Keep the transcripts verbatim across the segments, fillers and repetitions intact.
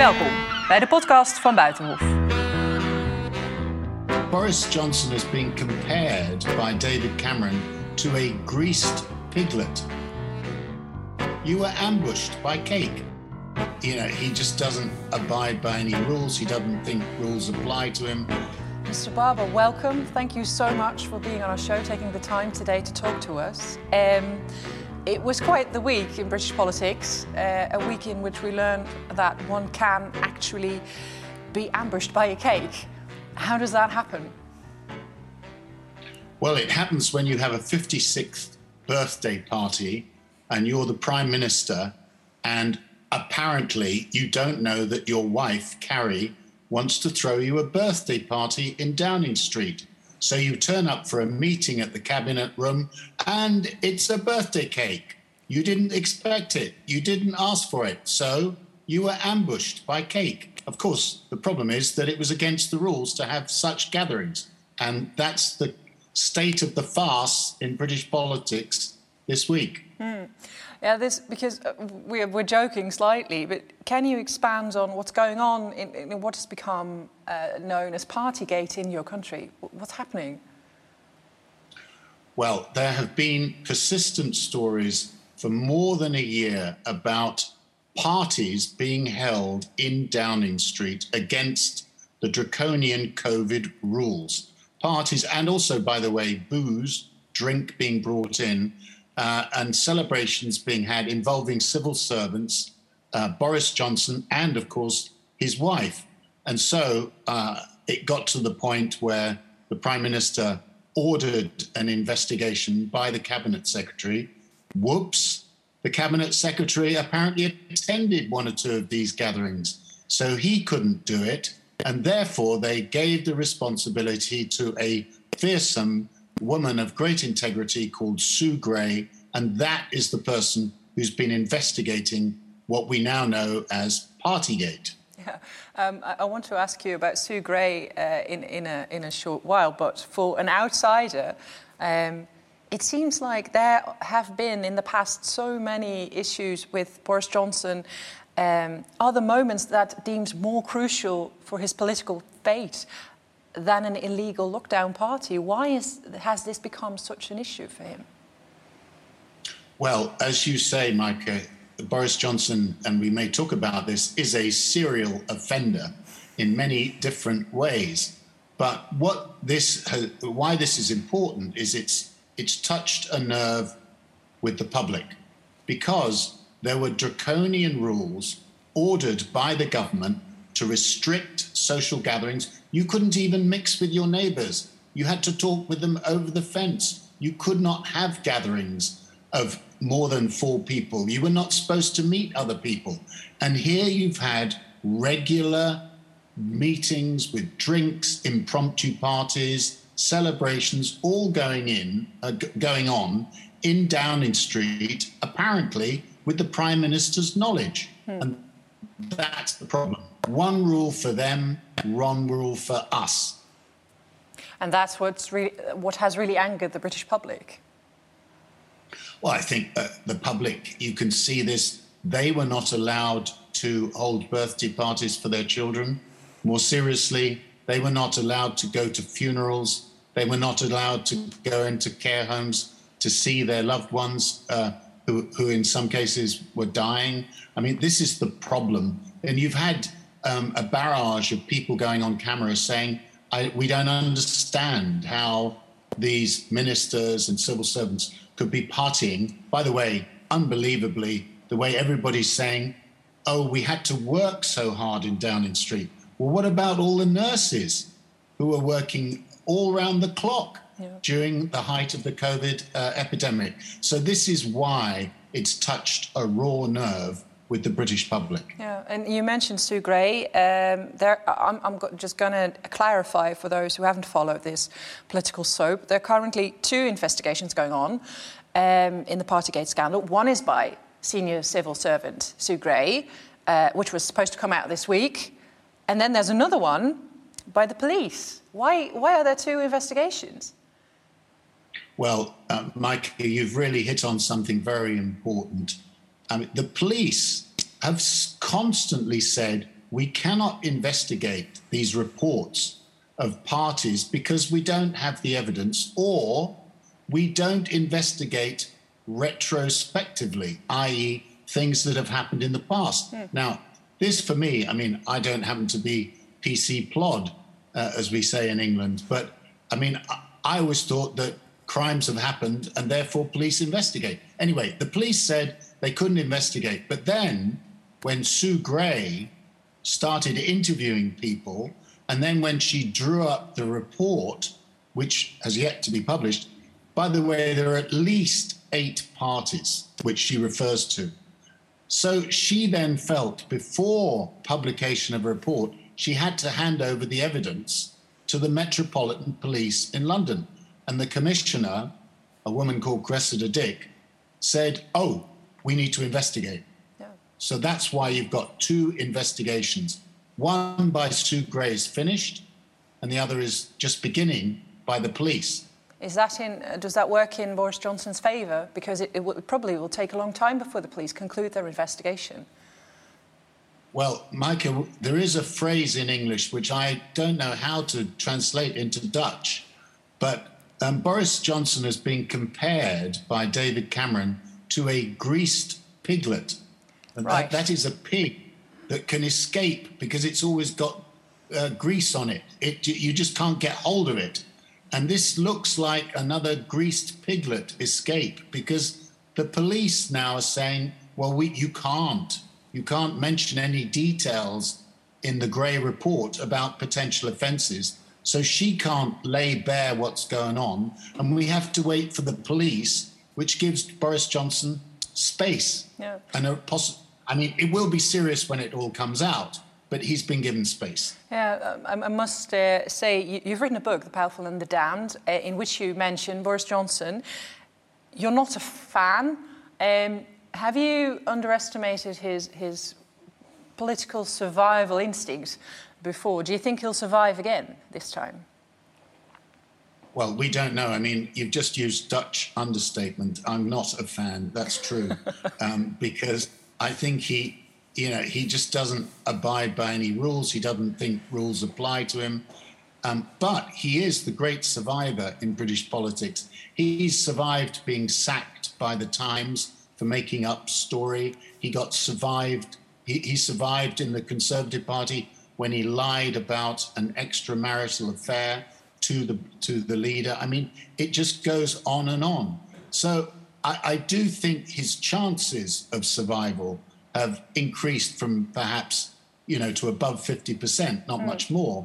Welkom bij de podcast van Buitenhof. Boris Johnson has been compared by David Cameron to a greased piglet. You were ambushed by cake. You know, he just doesn't abide by any rules. He doesn't think rules apply to him. Mister Barbour, welcome. Thank you so much for being on our show, taking the time today to talk to us. Um, it was quite the week in British politics, uh, a week in which we learned that one can actually be ambushed by a cake. How does that happen? Well, it happens when you have a fifty-sixth birthday party and you're the Prime Minister, and apparently you don't know that your wife, Carrie, wants to throw you a birthday party in Downing Street. So you turn up for a meeting at the cabinet room and it's a birthday cake. You didn't expect it. You didn't ask for it. So you were ambushed by cake. Of course, the problem is that it was against the rules to have such gatherings. And that's the state of the farce in British politics this week. Mm. Yeah, this because we're, we're joking slightly, but can you expand on what's going on in, in what has become uh, known as Partygate in your country? What's happening? Well, there have been persistent stories for more than a year about parties being held in Downing Street against the draconian COVID rules. Parties, and also, by the way, booze, drink being brought in, Uh, and celebrations being had involving civil servants, uh, Boris Johnson, and, of course, his wife. And so uh, it got to the point where the Prime Minister ordered an investigation by the Cabinet Secretary. Whoops, the Cabinet Secretary apparently attended one or two of these gatherings, so he couldn't do it. And therefore, they gave the responsibility to a fearsome woman of great integrity called Sue Gray, and that is the person who's been investigating what we now know as Partygate. Yeah, um, I, I want to ask you about Sue Gray uh, in, in, a, in a short while, but for an outsider, um, it seems like there have been in the past so many issues with Boris Johnson. Um, are the moments that deems more crucial for his political fate than an illegal lockdown party? Why is, has this become such an issue for him? Well, as you say, Micah, Boris Johnson, and we may talk about this, is a serial offender in many different ways. But what this, has, why this is important is it's, it's touched a nerve with the public, because there were draconian rules ordered by the government to restrict social gatherings. You couldn't even mix with your neighbours. You had to talk with them over the fence. You could not have gatherings of more than four people. You were not supposed to meet other people. And here you've had regular meetings with drinks, impromptu parties, celebrations, all going in, uh, g- going on in Downing Street, apparently with the Prime Minister's knowledge. Hmm. And that's the problem. One rule for them, one rule for us. And that's what's really, what has really angered the British public. Well, I think uh, the public, you can see this, they were not allowed to hold birthday parties for their children. More seriously, they were not allowed to go to funerals. They were not allowed to go into care homes to see their loved ones uh, who, who in some cases were dying. I mean, this is the problem. And you've had Um, a barrage of people going on camera saying, I, we don't understand how these ministers and civil servants could be partying. By the way, unbelievably, the way everybody's saying, oh, we had to work so hard in Downing Street. Well, what about all the nurses who are working all round the clock yeah. during the height of the COVID uh, epidemic? So this is why it's touched a raw nerve with the British public. Yeah, and you mentioned Sue Gray. Um, there, I'm, I'm go- just going to clarify for those who haven't followed this political soap. There are currently two investigations going on um, in the Partygate scandal. One is by senior civil servant Sue Gray, uh, which was supposed to come out this week. And then there's another one by the police. Why, why are there two investigations? Well, uh, Mike, you've really hit on something very important. I mean, the police have constantly said we cannot investigate these reports of parties because we don't have the evidence, or we don't investigate retrospectively, that is things that have happened in the past. Mm. Now, this for me, I mean, I don't happen to be P C plod, uh, as we say in England, but I mean, I, I always thought that crimes have happened and therefore police investigate. Anyway, the police said they couldn't investigate. But then when Sue Gray started interviewing people, and then when she drew up the report, which has yet to be published, by the way, there are at least eight parties which she refers to. So she then felt before publication of a report, she had to hand over the evidence to the Metropolitan Police in London. And the commissioner, a woman called Cressida Dick, said, oh, we need to investigate. Yeah. So that's why you've got two investigations. One by Sue Gray is finished, and the other is just beginning by the police. Is that in, uh, does that work in Boris Johnson's favour? Because it, it, will, it probably will take a long time before the police conclude their investigation. Well, Micah, there is a phrase in English which I don't know how to translate into Dutch, but um, Boris Johnson has been compared by David Cameron to a greased piglet. And right. that, that is a pig that can escape because it's always got uh, grease on it. It. You just can't get hold of it. And this looks like another greased piglet escape because the police now are saying, well, we, you can't. You can't mention any details in the Gray report about potential offences. So she can't lay bare what's going on. And we have to wait for the police, which gives Boris Johnson space. Yeah. And a poss- I mean, it will be serious when it all comes out, but he's been given space. Yeah, um, I must uh, say, you, you've written a book, The Powerful and the Damned, uh, in which you mention Boris Johnson. You're not a fan. Um, have you underestimated his, his political survival instinct before? Do you think he'll survive again this time? Well, we don't know. I mean, you've just used Dutch understatement. I'm not a fan. That's true. um, because I think he, you know, he just doesn't abide by any rules. He doesn't think rules apply to him. Um, but he is the great survivor in British politics. He's survived being sacked by the Times for making up story. He got survived. He, he survived in the Conservative Party when he lied about an extramarital affair to the to the leader. I mean, it just goes on and on. So I, I do think his chances of survival have increased from perhaps, you know, to above fifty percent, not mm. much more.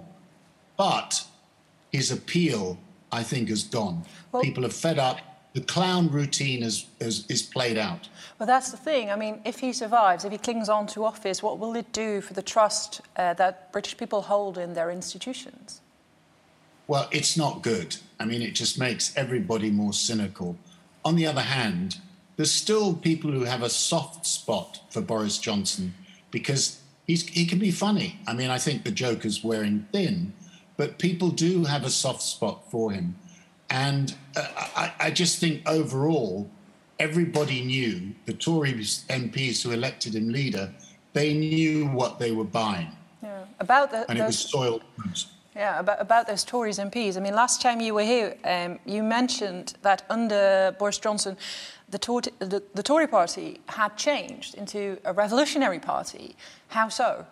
But his appeal, I think, has gone. Well, people are fed up. The clown routine is, is, is played out. Well, that's the thing. I mean, if he survives, if he clings on to office, what will it do for the trust uh, that British people hold in their institutions? Well, it's not good. I mean, it just makes everybody more cynical. On the other hand, there's still people who have a soft spot for Boris Johnson because he's, he can be funny. I mean, I think the joke is wearing thin, but people do have a soft spot for him. And uh, I, I just think overall, everybody knew, the Tory M Ps who elected him leader, they knew what they were buying. Yeah, about the, and those, it was soiled goods. Yeah, about, about those Tories M Ps. I mean, last time you were here, um, you mentioned that under Boris Johnson, the, Tor- the, the Tory party had changed into a revolutionary party. How so?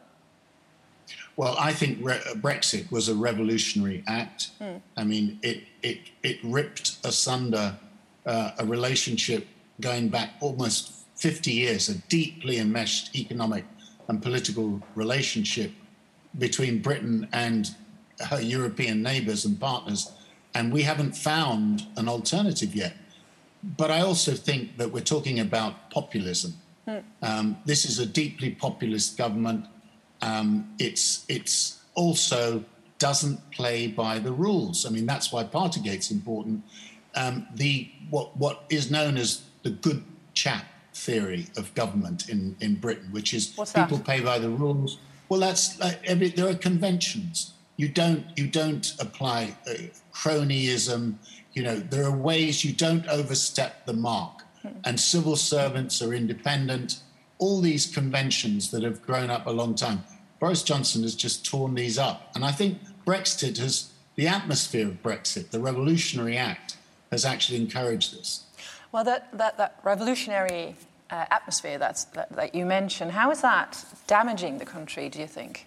Well, I think re- Brexit was a revolutionary act. Mm. I mean, it it it ripped asunder uh, a relationship going back almost fifty years, a deeply enmeshed economic and political relationship between Britain and her European neighbours and partners, and we haven't found an alternative yet. But I also think that we're talking about populism. Mm. Um, this is a deeply populist government. Um, it's it's also doesn't play by the rules. I mean, that's why Partygate's important. Um, the what what is known as the good chap theory of government in, in Britain, which is What's people that? pay by the rules. Well, that's like every, there are conventions. You don't you don't apply uh, cronyism. You know, there are ways you don't overstep the mark. Hmm. And civil servants are independent. All these conventions that have grown up a long time. Boris Johnson has just torn these up. And I think Brexit has, the atmosphere of Brexit, the revolutionary act, has actually encouraged this. Well, that, that, that revolutionary uh, atmosphere that's, that, that you mentioned, how is that damaging the country, do you think?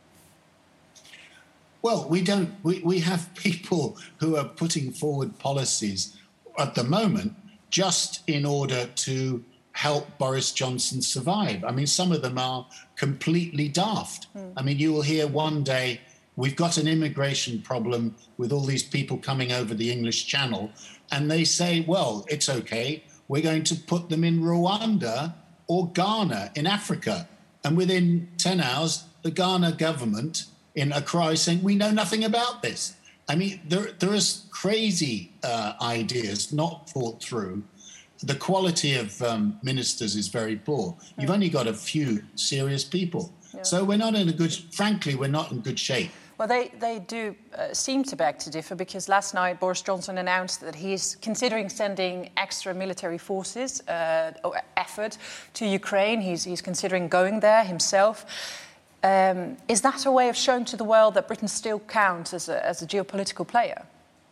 Well, we don't, we, we have people who are putting forward policies at the moment just in order to help Boris Johnson survive. I mean, some of them are completely daft. Mm. I mean, you will hear one day, we've got an immigration problem with all these people coming over the English Channel, and they say, well, it's okay, we're going to put them in Rwanda or Ghana in Africa. And within ten hours, the Ghana government in Accra is saying, we know nothing about this. I mean, there, there is crazy uh, ideas not thought through. The quality of um, ministers is very poor. You've only got a few serious people. Yeah. So we're not in a good, frankly, we're not in good shape. Well, they, they do uh, seem to beg to differ, because last night Boris Johnson announced that he's considering sending extra military forces uh, or effort to Ukraine. He's, he's considering going there himself. Um, is that a way of showing to the world that Britain still counts as a, as a geopolitical player?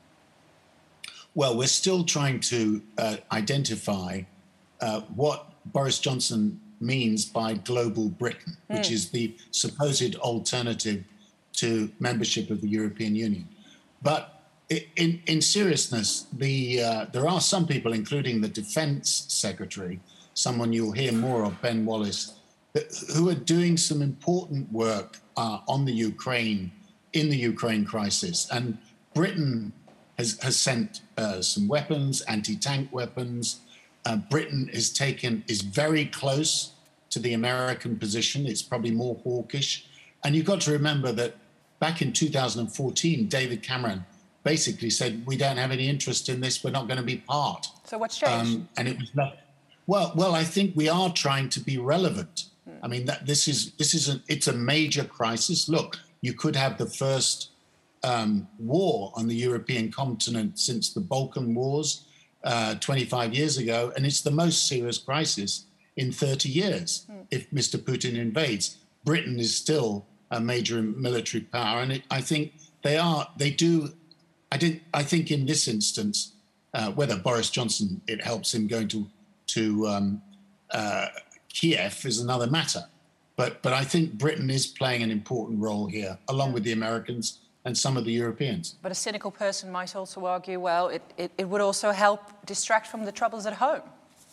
Well, we're still trying to uh, identify uh, what Boris Johnson means by global Britain, mm. which is the supposed alternative to membership of the European Union. But in, in seriousness, the, uh, there are some people, including the Defence Secretary, someone you'll hear more of, Ben Wallace, who are doing some important work uh, on the Ukraine, in the Ukraine crisis. And Britain has, has sent uh, some weapons, anti-tank weapons. Uh, Britain is taken, is very close to the American position. It's probably more hawkish. And you've got to remember that back in two thousand fourteen, David Cameron basically said, we don't have any interest in this, we're not going to be part. So what's changed? Um, and it was not, well, well, I think we are trying to be relevant. Hmm. I mean, that this is, this is a, it's a major crisis. Look, you could have the first um, war on the European continent since the Balkan Wars uh, twenty-five years ago, and it's the most serious crisis in thirty years. Hmm. If Mister Putin invades, Britain is still a major military power, and it, I think they are. They do. I didn't. I think in this instance, uh, whether Boris Johnson it helps him going to to um, uh, Kiev is another matter. But but I think Britain is playing an important role here, along with the Americans and some of the Europeans. But a cynical person might also argue, well, it, it, it would also help distract from the troubles at home.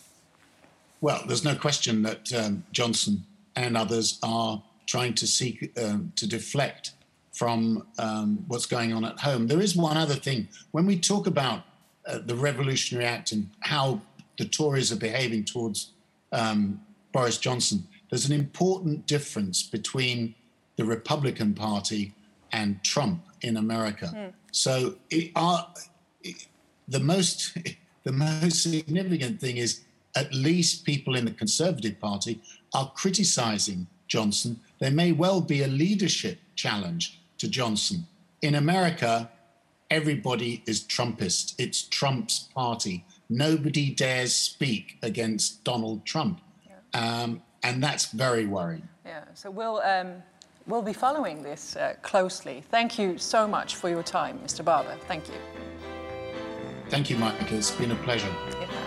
Well, there's no question that um, Johnson and others are trying to seek um, to deflect from um, what's going on at home. There is one other thing. When we talk about uh, the Revolutionary Act and how the Tories are behaving towards um, Boris Johnson, there's an important difference between the Republican Party and Trump in America. Mm. So it are, it, the most the most significant thing is at least people in the Conservative Party are criticizing Johnson. There may well be a leadership challenge to Johnson. In America, everybody is Trumpist. It's Trump's party. Nobody dares speak against Donald Trump. Yeah. Um, and that's very worrying. Yeah, so we'll, um, we'll be following this uh, closely. Thank you so much for your time, Mister Barber. Thank you. Thank you, Michael. It's been a pleasure. Yeah.